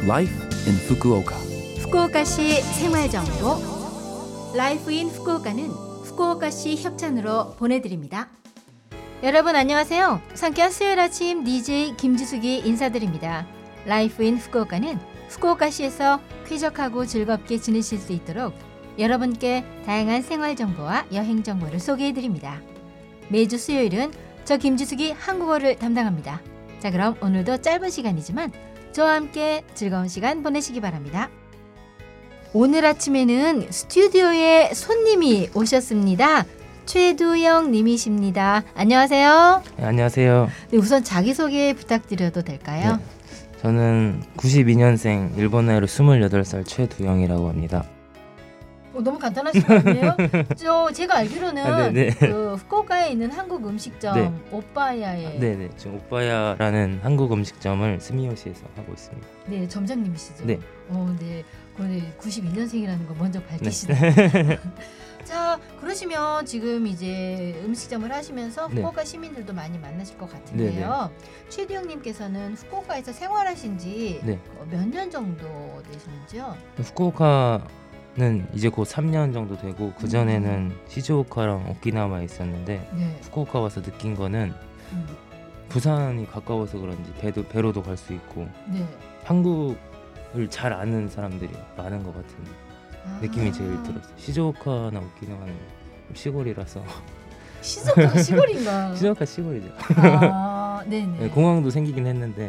Life in Fukuoka. 후쿠오카시 생활정보 라이프 인 후쿠오카는 후쿠오카시 협찬으로 보내드립니다. 여러분 안녕하세요. 상쾌한 수요일 아침 DJ 김지숙이 인사드립니다. 라이프 인 후쿠오카는 후쿠오카시에서 쾌적하고 즐겁게 지내실 수 있도록 여러분께 다양한 생활정보와 여행정보를 소개해드립니다. 매주 수요일은 저 김지숙이 한국어를 담당합니다. 자, 그럼 오늘도 짧은 시간이지만 저와 함께 즐거운 시간 보내시기 바랍니다. 오늘 아침에는 스튜디오에 손님이 오셨습니다. 최두영 님이십니다. 안녕하세요. 네, 안녕하세요. 네, 우선 자기소개 부탁드려도 될까요? 네, 저는 92년생 일본 나이로 28살 최두영이라고 합니다. 너무 간단하신 거 아니에요? 제가 알기로는 그 후쿠오카에 있는 한국 음식점 오빠야에 지금 오빠야라는 한국 음식점을 스미요시에서 하고 있습니다. 네, 점장님이시죠? 네. 네. 그런데 92년생이라는 거 먼저 밝히시네요. 자, 그러시면 지금 이제 음식점을 하시면서 후쿠오카 시민들도 많이 만나실 것 같은데요. 최두영님께서는 후쿠오카에서 생활하신 지 몇 년 정도 되시는지요? 후쿠오카는 이제 곧 3년 정도 되고 그 전에는 시즈오카랑 오키나와에 있었는데 후쿠오카 와서 느낀 거는 부산이 가까워서 그런지 배로도 갈 수 있고 한국을 잘 아는 사람들이 많은 것 같은 느낌이 제일 들었어요. 시즈오카나 오키나와는 시골이라서. 시즈오카가 시골인가? 시즈오카 시골이죠. 네네. 공항도 생기긴 했는데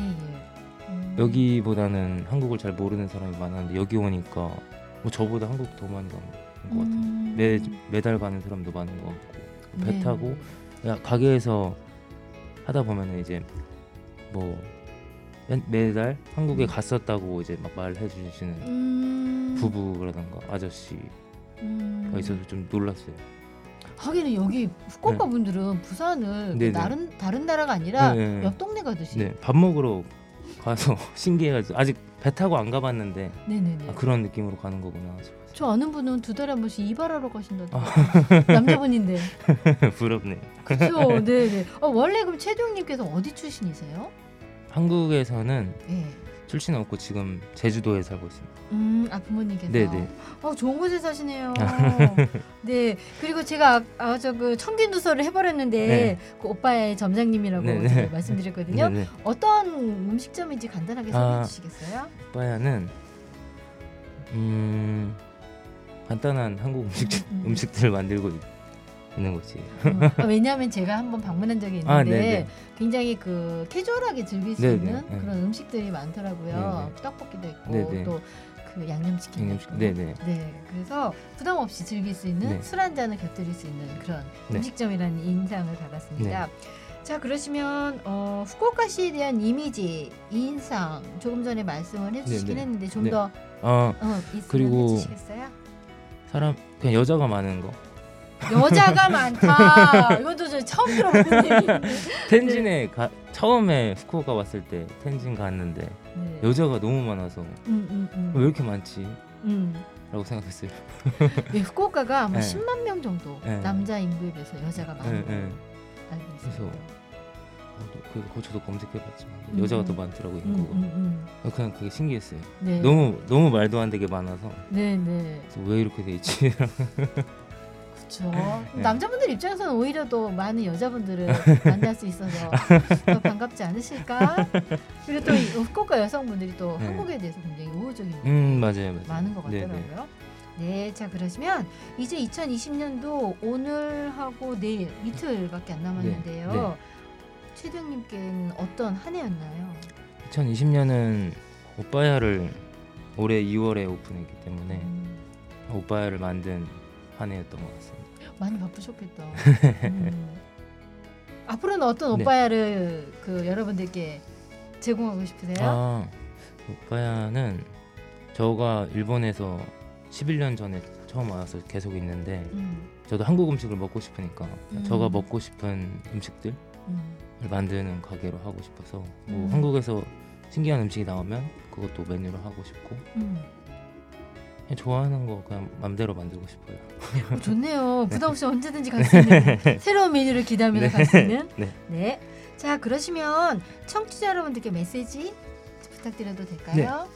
여기보다는 한국을 잘 모르는 사람이 많았는데 여기 오니까 뭐 저보다 한국 더 많이 가는 것 같아요. 매달 가는 사람도 많은 것 같고 배 타고 가게에서 하다 보면 이제 뭐 매달 한국에 갔었다고 이제 막 말해 주시는 부부라던가 아저씨가 있어서 좀 놀랐어요. 하기는 여기 후쿠오카 분들은 부산을 다른 나라가 아니라 옆 동네 가듯이 밥 먹으러 가서 신기해가지고 아직 배 타고 안 가봤는데 그런 느낌으로 가는 거구나. 저 아는 분은 2달에 한 번씩 이발하러 가신다던데. 남자분인데. 부럽네. 그렇죠. 네네. 원래 그럼 최두영님께서 어디 출신이세요? 한국에서는 출신 없고 지금 제주도에 살고 있습니다. 부모님께서. 네네. 좋은 곳에 사시네요. 네. 그리고 제가 그 청균두서를 해버렸는데 그 오빠의 점장님이라고 제가 말씀드렸거든요. 어떤 음식점인지 간단하게 소개해 주시겠어요? 오빠야는 간단한 한국 음식들을 만들고 있는 곳이에요. 왜냐하면 제가 한번 방문한 적이 있는데 굉장히 그 캐주얼하게 즐길 수 있는 그런 음식들이 많더라고요. 떡볶이도 있고 또 그 양념치킨도 있고. 그래서 부담 없이 즐길 수 있는 술 한 잔을 곁들일 수 있는 그런 음식점이라는 인상을 받았습니다. 자, 그러시면 후쿠오카시에 대한 이미지, 인상 조금 전에 말씀을 해주시긴 했는데 좀 더 그리고 해주시겠어요? 그냥 여자가 많은 거. 여자가 많다. 이것도 저 처음 들어보는 얘기인데. 텐진에 처음에 후쿠오카 왔을 때 텐진 갔는데 여자가 너무 많아서 왜 이렇게 많지? 라고 생각했어요. 후쿠오카가 아마 10만 명 정도 남자 인구에 비해서 여자가 많은 걸로 알고 있어요. 그래서 저도 검색해봤지만 여자가 더 많더라고요. 그냥 그게 신기했어요. 너무 말도 안 되게 많아서 그래서 왜 이렇게 돼 있지? 그렇죠. 남자분들 입장에서는 오히려 더 많은 여자분들을 만날 수 있어서 더 반갑지 않으실까? 그리고 또 후쿠오카 여성분들이 또 한국에 대해서 굉장히 우호적인 맞아요. 많은 것 같더라고요. 네, 자 그러시면 이제 2020년도 오늘하고 내일 이틀밖에 안 남았는데요. 최두영님께는 어떤 한 해였나요? 2020년은 오빠야를 올해 2월에 오픈했기 때문에 오빠야를 만든 한 해였던 것 같습니다. 많이 바쁘셨겠다. 앞으로는 어떤 오빠야를 그 여러분들께 제공하고 싶으세요? 오빠야는 저가 일본에서 11년 전에 처음 와서 계속 있는데 저도 한국 음식을 먹고 싶으니까 저가 먹고 싶은 음식들을 만드는 가게로 하고 싶어서 뭐 한국에서 신기한 음식이 나오면 그것도 메뉴로 하고 싶고 그냥 좋아하는 거 그냥 맘대로 만들고 싶어요. 좋네요. 부담 없이 언제든지 갈 수 있는 새로운 메뉴를 기대하면서 갈 수 있는. 자, 그러시면 청취자 여러분들께 메시지 부탁드려도 될까요?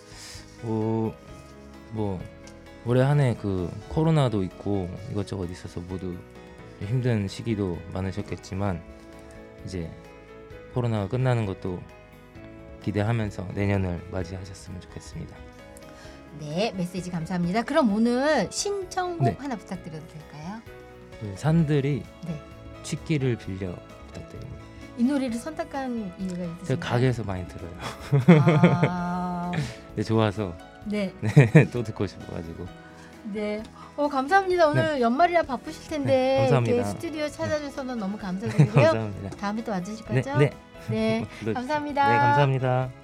뭐 올해 한 해 그 코로나도 있고 이것저것 있어서 모두 힘든 시기도 많으셨겠지만 이제 코로나가 끝나는 것도 기대하면서 내년을 맞이하셨으면 좋겠습니다. 네, 메시지 감사합니다. 그럼 오늘 신청곡 네. 하나 부탁드려도 될까요? 그 산들이 네. 취기를 빌려 부탁드립니다. 이 노래를 선택한 이유가 있으신가요? 제가 가게에서 많이 들어요. 아, 네, 좋아서 네, 또 듣고 싶어가지고. 네. 감사합니다. 오늘 연말이라 바쁘실 텐데 감사합니다. 이렇게 스튜디오 찾아주셔서 너무 감사드리고요. 감사합니다. 다음에 또 와주실 네, 거죠? 네. 네, 감사합니다. 네, 감사합니다.